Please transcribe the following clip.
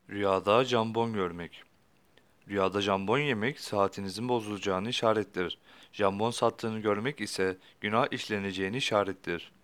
Rüyada jambon görmek. Rüyada jambon yemek saatinizin bozulacağını işarettir. Jambon sattığını görmek ise günah işleneceğini işarettir.